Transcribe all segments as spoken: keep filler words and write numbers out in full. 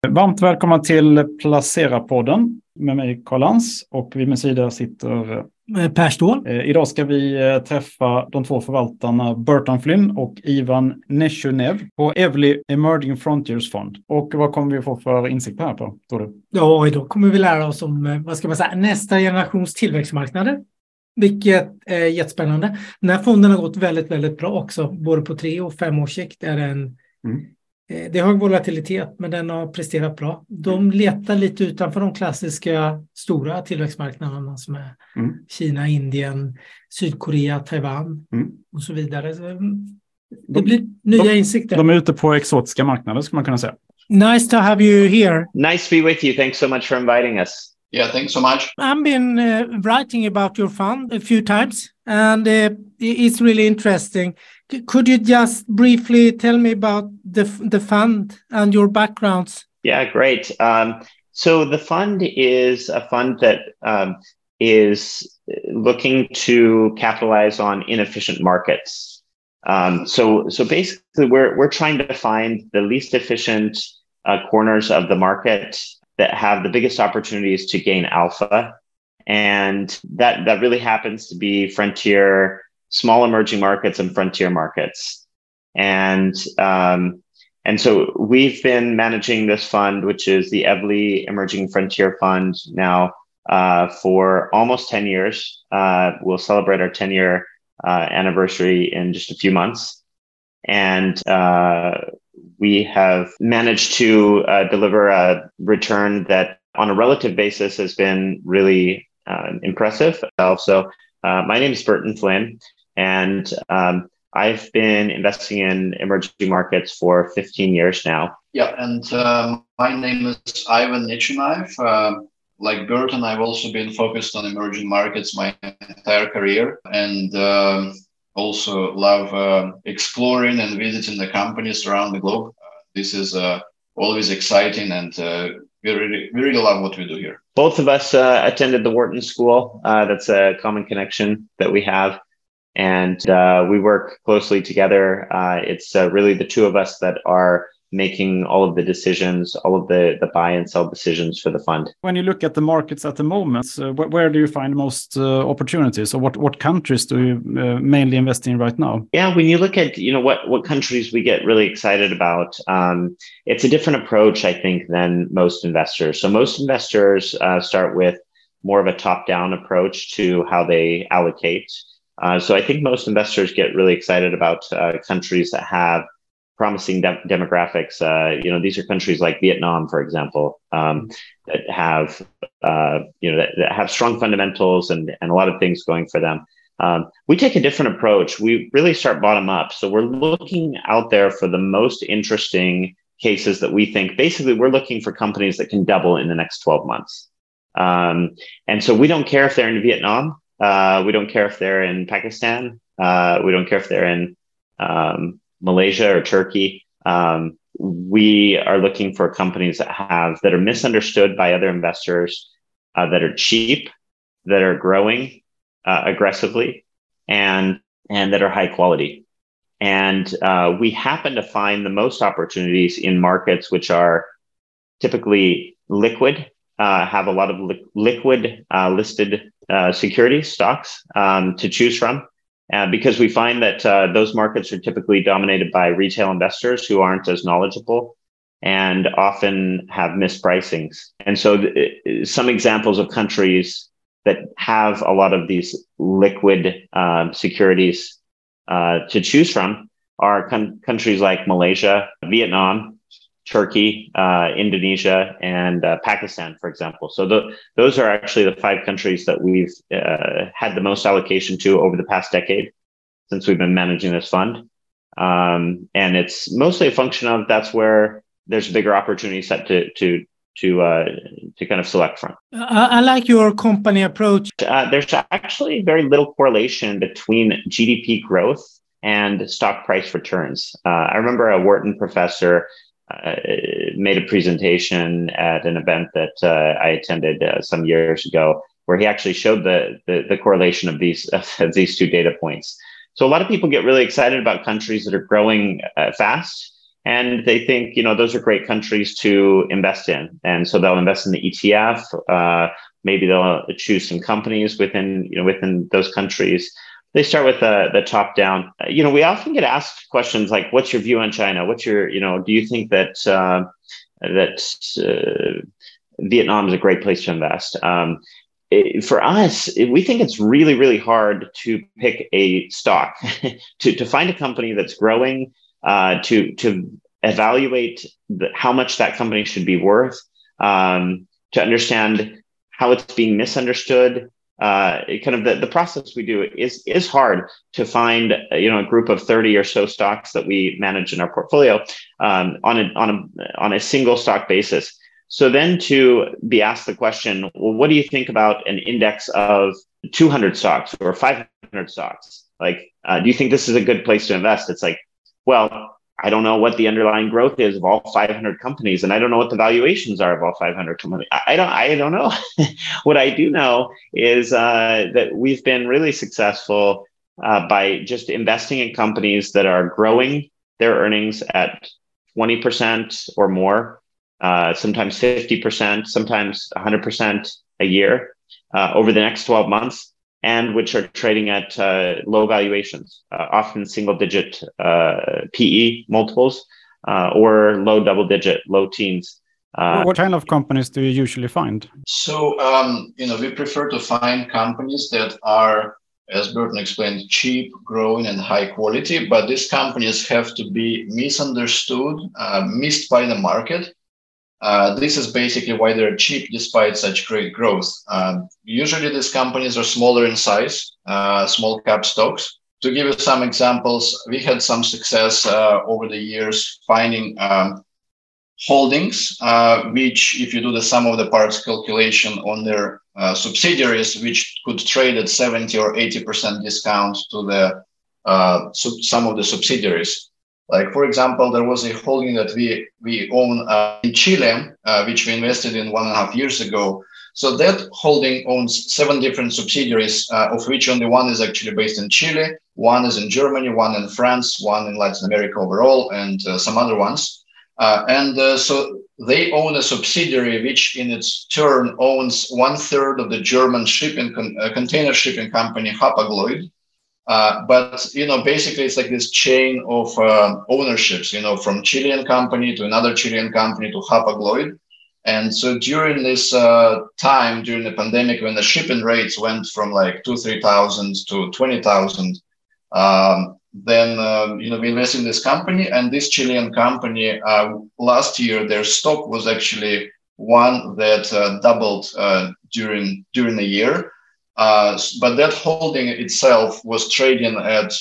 Varmt välkomna till Placera-podden med mig Carl Lantz och vid min sida sitter Per Ståhl. Idag ska vi träffa de två förvaltarna Burton Flynn och Ivan Neshunev på Evli Emerging Frontiers Fund. Och vad kommer vi få för insikt här på, tror du? Ja, idag kommer vi lära oss om, vad ska man säga, nästa generations tillväxtmarknader. Vilket är jättespännande. Den här fonden har gått väldigt, väldigt bra också. Både på tre och fem års sikt är den... Mm. Det är hög volatilitet, men den har presterat bra. De letar lite utanför de klassiska stora tillväxtmarknaderna som är mm. Kina, Indien, Sydkorea, Taiwan mm. och så vidare. Så det blir de, nya de, insikter. De är ute på exotiska marknader, skulle man kunna säga. Nice to have you here. Nice to be with you. Thanks so much for inviting us. Yeah, thanks so much. I've been uh, writing about your fund a few times, and uh, it's really interesting. Could you just briefly tell me about the the fund and your backgrounds? Yeah, great. Um, so the fund is a fund that um, is looking to capitalize on inefficient markets. Um, so, so basically, we're we're trying to find the least efficient uh, corners of the market that have the biggest opportunities to gain alpha, and that that really happens to be frontier, small emerging markets and frontier markets. And um, and so we've been managing this fund, which is the Evli Emerging Frontier Fund, now uh, for almost ten years. Uh, we'll celebrate our ten-year uh, anniversary in just a few months. And uh, we have managed to uh, deliver a return that on a relative basis has been really uh, impressive. Also, uh, my name is Burton Flynn. And um, I've been investing in emerging markets for fifteen years now. Yeah, and um, my name is Ivan Neshunev. Uh, like Burton, I've also been focused on emerging markets my entire career, and um, also love uh, exploring and visiting the companies around the globe. Uh, this is uh, always exciting, and uh, we really, we really love what we do here. Both of us uh, attended the Wharton School. Uh, that's a common connection that we have. And uh, we work closely together. Uh, it's uh, really the two of us that are making all of the decisions, all of the, the buy and sell decisions for the fund. When you look at the markets at the moment, uh, wh- where do you find most uh, opportunities, or what, what countries do you uh, mainly invest in right now? Yeah, when you look at you know what what countries we get really excited about, um, it's a different approach, I think, than most investors. So most investors uh, start with more of a top-down approach to how they allocate. Uh, so I think most investors get really excited about uh, countries that have promising de- demographics. Uh, you know, these are countries like Vietnam, for example, um, that have uh, you know that, that have strong fundamentals and and a lot of things going for them. Um, we take a different approach. We really start bottom up. So we're looking out there for the most interesting cases that we think. Basically, we're looking for companies that can double in the next twelve months. Um, and so we don't care if they're in Vietnam. Uh, we don't care if they're in Pakistan. Uh, we don't care if they're in um, Malaysia or Turkey. Um, we are looking for companies that have that are misunderstood by other investors, uh, that are cheap, that are growing uh, aggressively, and and that are high quality. And uh, we happen to find the most opportunities in markets which are typically liquid, uh, have a lot of li- liquid uh, listed Uh, securities, stocks um, to choose from, uh, because we find that uh, those markets are typically dominated by retail investors who aren't as knowledgeable and often have mispricings. And so th- some examples of countries that have a lot of these liquid uh, securities uh, to choose from are con- countries like Malaysia, Vietnam, Turkey, uh, Indonesia, and uh, Pakistan, for example. So the, those are actually the five countries that we've uh, had the most allocation to over the past decade since we've been managing this fund. Um, and it's mostly a function of that's where there's a bigger opportunity set to to to uh, to kind of select from. I, I like your company approach. Uh, there's actually very little correlation between G D P growth and stock price returns. Uh, I remember a Wharton professor Uh, made a presentation at an event that uh, I attended uh, some years ago, where he actually showed the the, the correlation of these of these two data points. So a lot of people get really excited about countries that are growing uh, fast, And they think, you know, those are great countries to invest in. And so they'll invest in the E T F. Uh, maybe they'll choose some companies within, you know, within those countries. They start with the, the top down. Uh, you know, we often get asked questions like, what's your view on China? What's your, you know, do you think that, uh, that uh, Vietnam is a great place to invest? Um, it, for us, it, we think it's really, really hard to pick a stock, to, to find a company that's growing, uh, to, to evaluate the, how much that company should be worth, um, to understand how it's being misunderstood. Uh, it kind of the, the process we do is is hard to find, you know, a group of thirty or so stocks that we manage in our portfolio um, on a on a on a single stock basis. So then to be asked the question, well, what do you think about an index of two hundred stocks or five hundred stocks? Like, uh, do you think this is a good place to invest? It's like, well, I don't know what the underlying growth is of all five hundred companies, and I don't know what the valuations are of all five hundred companies. I don't, I don't know. What I do know is uh, that we've been really successful uh, by just investing in companies that are growing their earnings at twenty percent or more, uh, sometimes fifty percent, sometimes one hundred percent a year uh, over the next twelve months. And which are trading at uh, low valuations, uh, often single-digit uh, P E multiples uh, or low double-digit, low teens. Uh, what kind of companies do you usually find? So, um, you know, we prefer to find companies that are, as Burton explained, cheap, growing, and high quality. But these companies have to be misunderstood, uh, missed by the market. Uh, this is basically why they're cheap despite such great growth. Um, usually these companies are smaller in size, uh, small cap stocks. To give you some examples, we had some success uh, over the years finding um, holdings, uh, which if you do the sum of the parts calculation on their uh, subsidiaries, which could trade at seventy or eighty percent discount to the uh, sub- some of the subsidiaries. Like, for example, there was a holding that we, we own uh, in Chile, uh, which we invested in one and a half years ago. So that holding owns seven different subsidiaries, uh, of which only one is actually based in Chile, one is in Germany, one in France, one in Latin America overall, and uh, some other ones. Uh, and uh, so they own a subsidiary, which in its turn owns one third of the German shipping con- uh, container shipping company, Hapag-Lloyd. Uh, but, you know, basically it's like this chain of uh, ownerships, you know, from Chilean company to another Chilean company to Hapag-Lloyd. And so during this uh, time, during the pandemic, when the shipping rates went from like two, three thousand to twenty thousand, um, then, um, you know, we invested in this company, and this Chilean company uh, last year, their stock was actually one that uh, doubled uh, during during the year. Uh, but that holding itself was trading at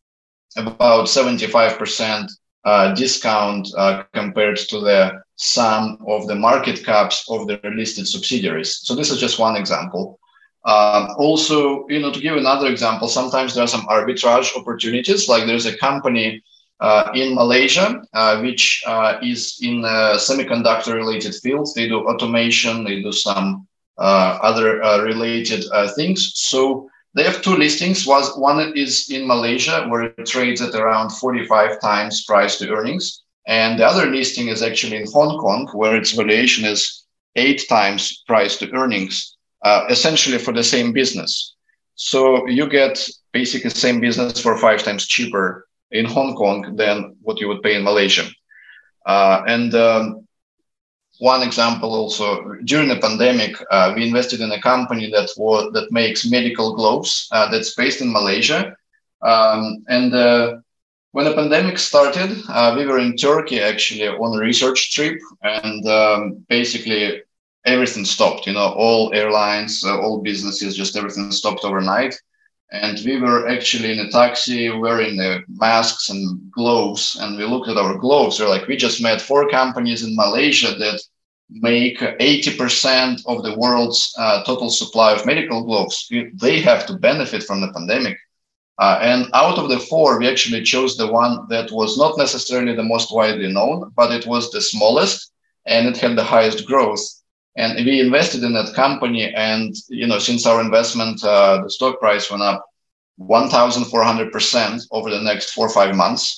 about seventy-five percent uh, discount uh, compared to the sum of the market caps of the listed subsidiaries. So this is just one example. Uh, also, you know, to give another example, sometimes there are some arbitrage opportunities. Like there's a company uh, in Malaysia, uh, which uh, is in a semiconductor-related fields. They do automation, they do some Uh, other uh, related uh, things. So they have two listings. One is in Malaysia, where it trades at around forty-five times price to earnings. And the other listing is actually in Hong Kong, where its valuation is eight times price to earnings, uh, essentially for the same business. So you get basically the same business for five times cheaper in Hong Kong than what you would pay in Malaysia. Uh, and um, One example also, during the pandemic, uh, we invested in a company that was, that makes medical gloves uh, that's based in Malaysia. Um, and uh, when the pandemic started, uh, we were in Turkey actually on a research trip, and um, basically everything stopped, you know, all airlines, uh, all businesses, just everything stopped overnight. And we were actually in a taxi wearing the masks and gloves. And we looked at our gloves. We're like, we just met four companies in Malaysia that make eighty percent of the world's uh, total supply of medical gloves. They have to benefit from the pandemic. Uh, and out of the four, we actually chose the one that was not necessarily the most widely known, but it was the smallest and it had the highest growth. And we invested in that company. And, you know, since our investment, uh, the stock price went up one thousand four hundred percent over the next four or five months.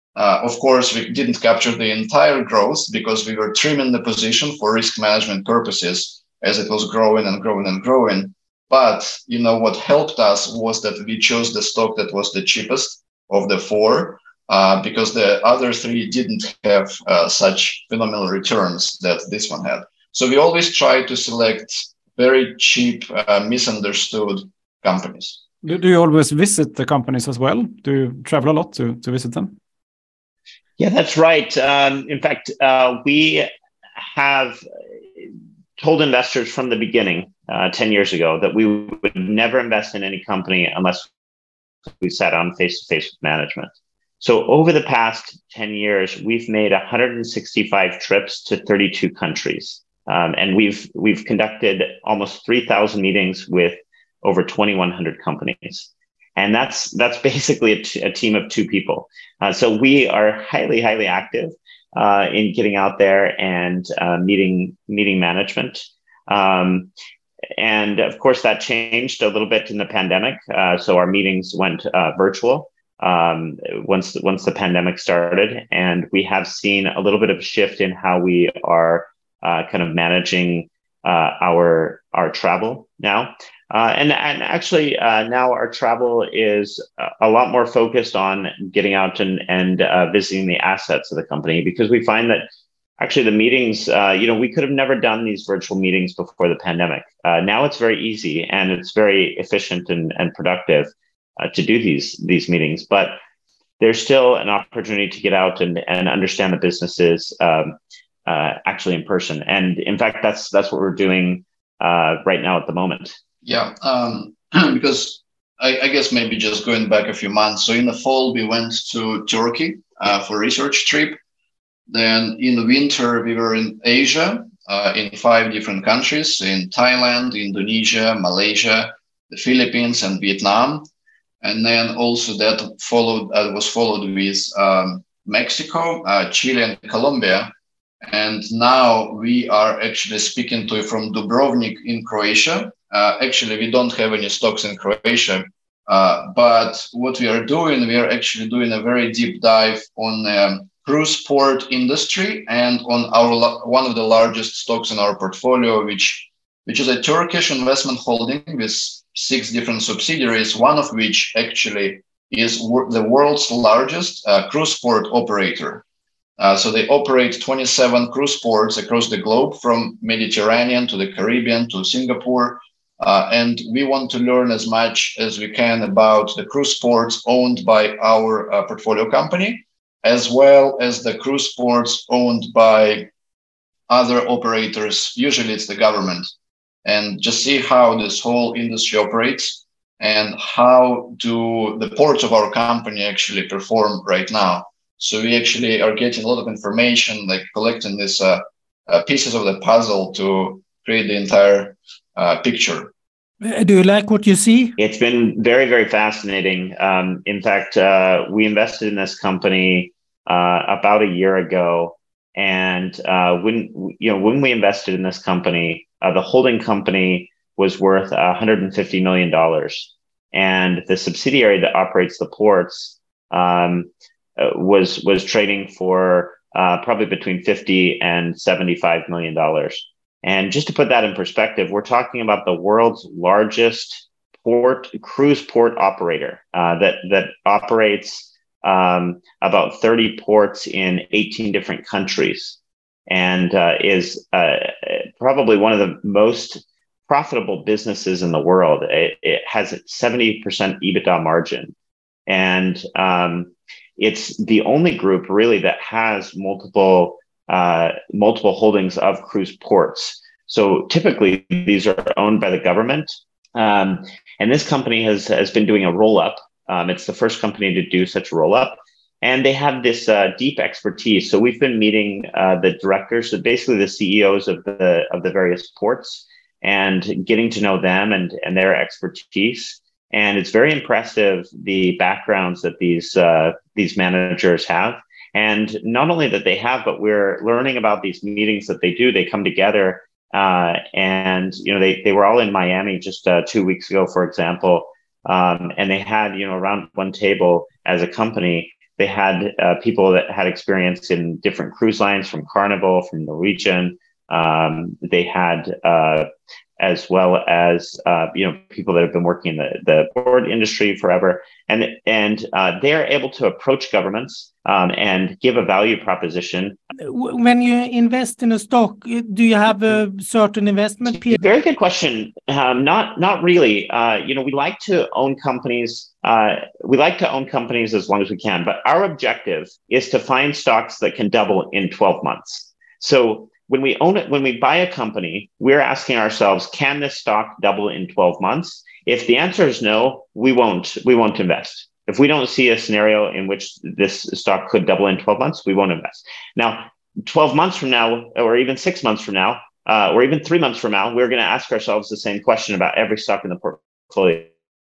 Uh, of course, we didn't capture the entire growth because we were trimming the position for risk management purposes as it was growing and growing and growing. But, you know, what helped us was that we chose the stock that was the cheapest of the four, uh, because the other three didn't have uh, such phenomenal returns that this one had. So we always try to select very cheap, uh, misunderstood companies. Do, do you always visit the companies as well? Do you travel a lot to, to visit them? Yeah, that's right. Um, in fact, uh, we have told investors from the beginning, uh, ten years ago, that we would never invest in any company unless we sat on face-to-face with management. So over the past ten years, we've made one hundred sixty-five trips to thirty-two countries. Um, and we've we've conducted almost three thousand meetings with over twenty-one hundred companies. And that's that's basically a, t- a team of two people. Uh, so we are highly, highly active uh, in getting out there and uh, meeting meeting management. Um, and of course, that changed a little bit in the pandemic. Uh, so our meetings went uh, virtual um, once once the pandemic started, and we have seen a little bit of a shift in how we are uh, kind of managing uh, our our travel now. Uh, and, and actually, uh, now our travel is a lot more focused on getting out and, and uh, visiting the assets of the company, because we find that actually the meetings, uh, you know, we could have never done these virtual meetings before the pandemic. Uh, now it's very easy and it's very efficient and, and productive uh, to do these, these meetings. But there's still an opportunity to get out and, and understand the businesses um, uh, actually in person. And in fact, that's that's what we're doing uh, right now at the moment. Yeah, um, because I, I guess maybe just going back a few months. So in the fall, we went to Turkey uh, for a research trip. Then in the winter, we were in Asia, uh, in five different countries, in Thailand, Indonesia, Malaysia, the Philippines, and Vietnam. And then also that followed uh, was followed with um, Mexico, uh, Chile, and Colombia. And now we are actually speaking to you from Dubrovnik in Croatia. Uh, actually, we don't have any stocks in Croatia, uh, but what we are doing, we are actually doing a very deep dive on um, cruise port industry and on our one of the largest stocks in our portfolio, which which is a Turkish investment holding with six different subsidiaries, one of which actually is wor- the world's largest uh, cruise port operator. Uh, so they operate twenty-seven cruise ports across the globe, from Mediterranean to the Caribbean to Singapore. Uh, and we want to learn as much as we can about the cruise ports owned by our uh, portfolio company, as well as the cruise ports owned by other operators. Usually it's the government. And just see how this whole industry operates and how do the ports of our company actually perform right now. So we actually are getting a lot of information, like collecting these uh, uh, pieces of the puzzle to create the entire uh, picture. Do you like what you see? It's been very, very fascinating. Um, in fact, uh, we invested in this company uh, about a year ago, and uh, when you know when we invested in this company, uh, the holding company was worth one hundred fifty million dollars, and the subsidiary that operates the ports um, uh, was was trading for uh, probably between fifty and seventy-five million dollars. And just to put that in perspective, we're talking about the world's largest port cruise port operator uh, that that operates um, about thirty ports in eighteen different countries, and uh, is uh, probably one of the most profitable businesses in the world. It, it has a seventy percent EBITDA margin, and um, it's the only group really that has multiple. Uh, multiple holdings of cruise ports. So typically these are owned by the government. Um, and this company has, has been doing a roll-up. Um, it's the first company to do such a roll-up. And they have this uh, deep expertise. So we've been meeting uh, the directors, so basically the C E Os of the of the various ports, and getting to know them and, and their expertise. And it's very impressive, the backgrounds that these uh, these managers have. And not only that they have, but we're learning about these meetings that they do. They come together uh, and, you know, they, they were all in Miami just uh, two weeks ago, for example. Um, and they had, you know, around one table as a company, They had uh, people that had experience in different cruise lines, from Carnival, from Norwegian. Um, they had, uh, as well as uh, you know, people that have been working in the, the board industry forever, and and uh, they are able to approach governments um, and give a value proposition. When you invest in a stock, do you have a certain investment period? Very good question. Um, not not really. Uh, you know, we like to own companies. Uh, we like to own companies as long as we can, but our objective is to find stocks that can double in twelve months. So when we own it, when we buy a company, we're asking ourselves, can this stock double in twelve months? If the answer is no, we won't, we won't invest. If we don't see a scenario in which this stock could double in twelve months, we won't invest. Now, twelve months from now, or even six months from now, uh, or even three months from now, we're going to ask ourselves the same question about every stock in the portfolio.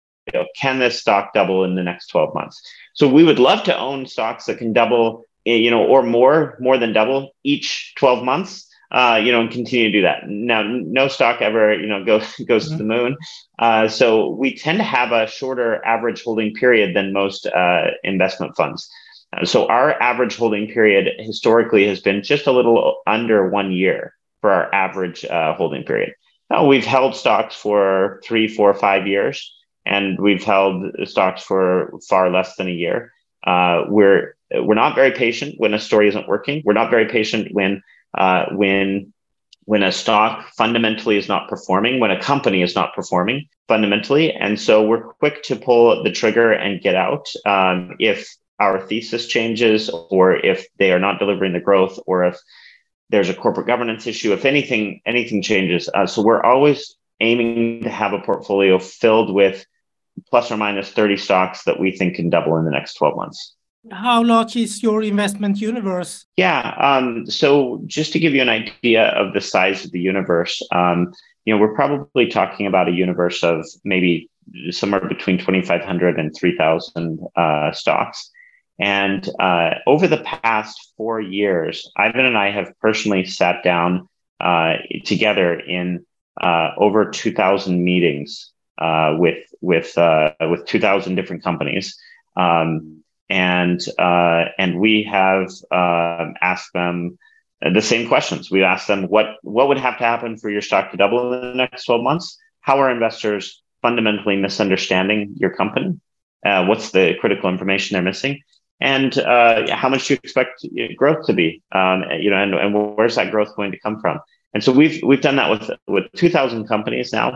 Can this stock double in the next twelve months? So we would love to own stocks that can double, you know, or more, more than double each twelve months. Uh, you know, and continue to do that. Now, no stock ever, you know, goes goes mm-hmm. to the moon. Uh, so we tend to have a shorter average holding period than most uh, investment funds. Uh, so our average holding period historically has been just a little under one year for our average uh, holding period. Now, we've held stocks for three, four, five years, and we've held stocks for far less than a year. Uh, we're we're not very patient when a story isn't working. We're not very patient when Uh, when when a stock fundamentally is not performing, when a company is not performing fundamentally. And so we're quick to pull the trigger and get out um, if our thesis changes, or if they are not delivering the growth, or if there's a corporate governance issue, if anything, anything changes. Uh, so we're always aiming to have a portfolio filled with plus or minus thirty stocks that we think can double in the next twelve months. How large is your investment universe? Yeah. Um, so just to give you an idea of the size of the universe, um, you know, we're probably talking about a universe of maybe somewhere between twenty-five hundred and three thousand uh, stocks. And uh, over the past four years, Ivan and I have personally sat down uh, together in uh, over two thousand meetings uh, with with uh, with two thousand different companies. Um, And uh, and we have uh, asked them the same questions. We asked them what what would have to happen for your stock to double in the next twelve months? How are investors fundamentally misunderstanding your company? Uh, what's the critical information they're missing? And uh, how much do you expect growth to be? Um, you know, and, and where's that growth going to come from? And so we've we've done that with with two thousand companies now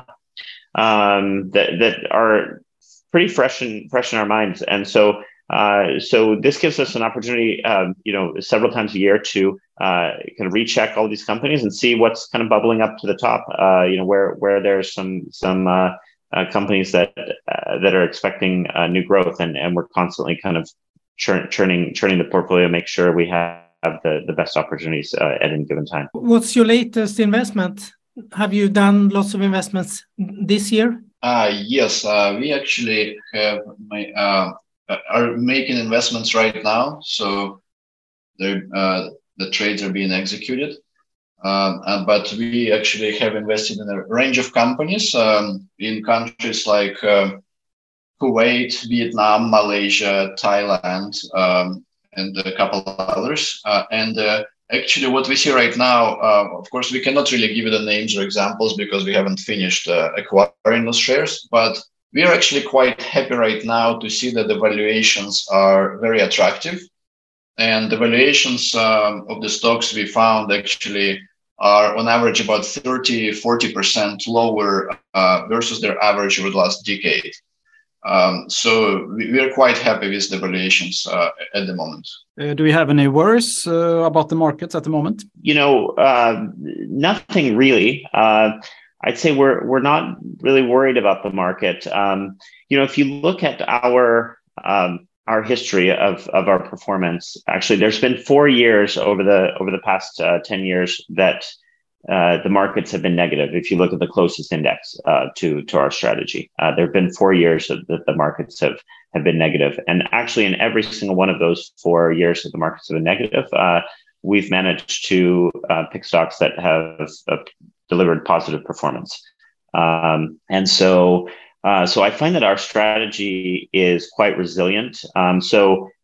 um, that that are pretty fresh in fresh in our minds. And so. Uh, so this gives us an opportunity, um, you know, several times a year to uh, kind of recheck all these companies and see what's kind of bubbling up to the top. Uh, you know, where where there's some some uh, uh, companies that uh, that are expecting uh, new growth, and and we're constantly kind of churn, churning churning the portfolio, make sure we have the the best opportunities uh, at any given time. What's your latest investment? Have you done lots of investments this year? Uh, yes, uh, we actually have my. Uh, are making investments right now, so uh, the trades are being executed. Um, and, but we actually have invested in a range of companies um, in countries like uh, Kuwait, Vietnam, Malaysia, Thailand, um, and a couple of others. Uh, and uh, actually, what we see right now, uh, of course, we cannot really give you the names or examples because we haven't finished uh, acquiring those shares, but we are actually quite happy right now to see that the valuations are very attractive. And the valuations um, of the stocks we found actually are on average about thirty, forty percent lower uh, versus their average over the last decade. Um, so we, we are quite happy with the valuations uh, at the moment. Uh, do we have any worries uh, about the markets at the moment? You know, uh, nothing really. Uh, I'd say we're we're not really worried about the market. Um, you know, if you look at our um, our history of of our performance, actually, there's been four years over the over the past uh, ten years that uh, the markets have been negative. If you look at the closest index uh, to to our strategy, uh, there have been four years that the markets have have been negative, and actually, in every single one of those four years that the markets have been negative, uh, we've managed to uh, pick stocks that have uh, delivered positive performance. Um, and so, uh, so I find that our strategy is quite resilient. Um, so,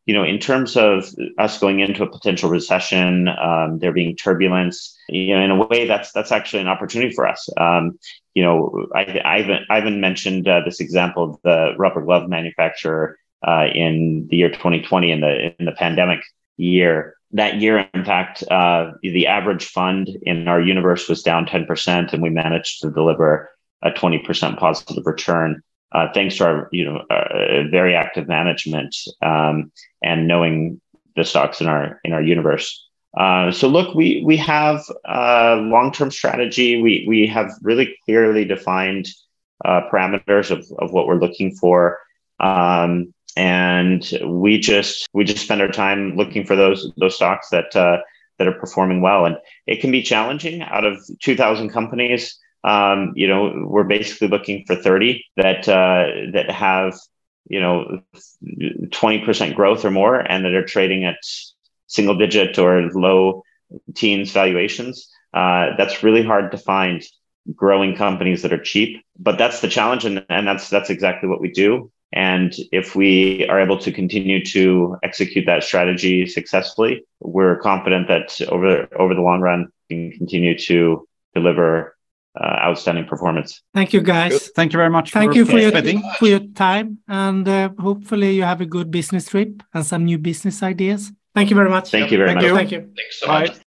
you know, in terms of us going into a potential recession, um, there being turbulence, you know, in a way that's that's actually an opportunity for us. Um, you know, I, Ivan, Ivan mentioned uh, this example of the rubber glove manufacturer uh, in the year twenty twenty, in the in the pandemic year. That year, in fact, uh, the average fund in our universe was down ten percent, and we managed to deliver a twenty percent positive return. Uh, thanks to our, you know, uh, very active management um, and knowing the stocks in our in our universe. Uh, so, look, we we have a long-term strategy. We we have really clearly defined uh, parameters of of what we're looking for, um, and we just we just spend our time looking for those those stocks that uh, that are performing well. And it can be challenging. Out of two thousand companies, Um, you know, we're basically looking for thirty that uh, that have, you know, twenty percent growth or more, and that are trading at single digit or low teens valuations. Uh, that's really hard to find growing companies that are cheap, but that's the challenge, and, and that's that's exactly what we do. And if we are able to continue to execute that strategy successfully, we're confident that over over the long run, we can continue to deliver Uh, outstanding performance. Thank you, guys. Good. Thank you very much. Thank for you for your, participating. for your time, and uh, hopefully you have a good business trip and some new business ideas. Thank you very much. Thank you very Thank much. you. Thank you. Thanks so Bye. much.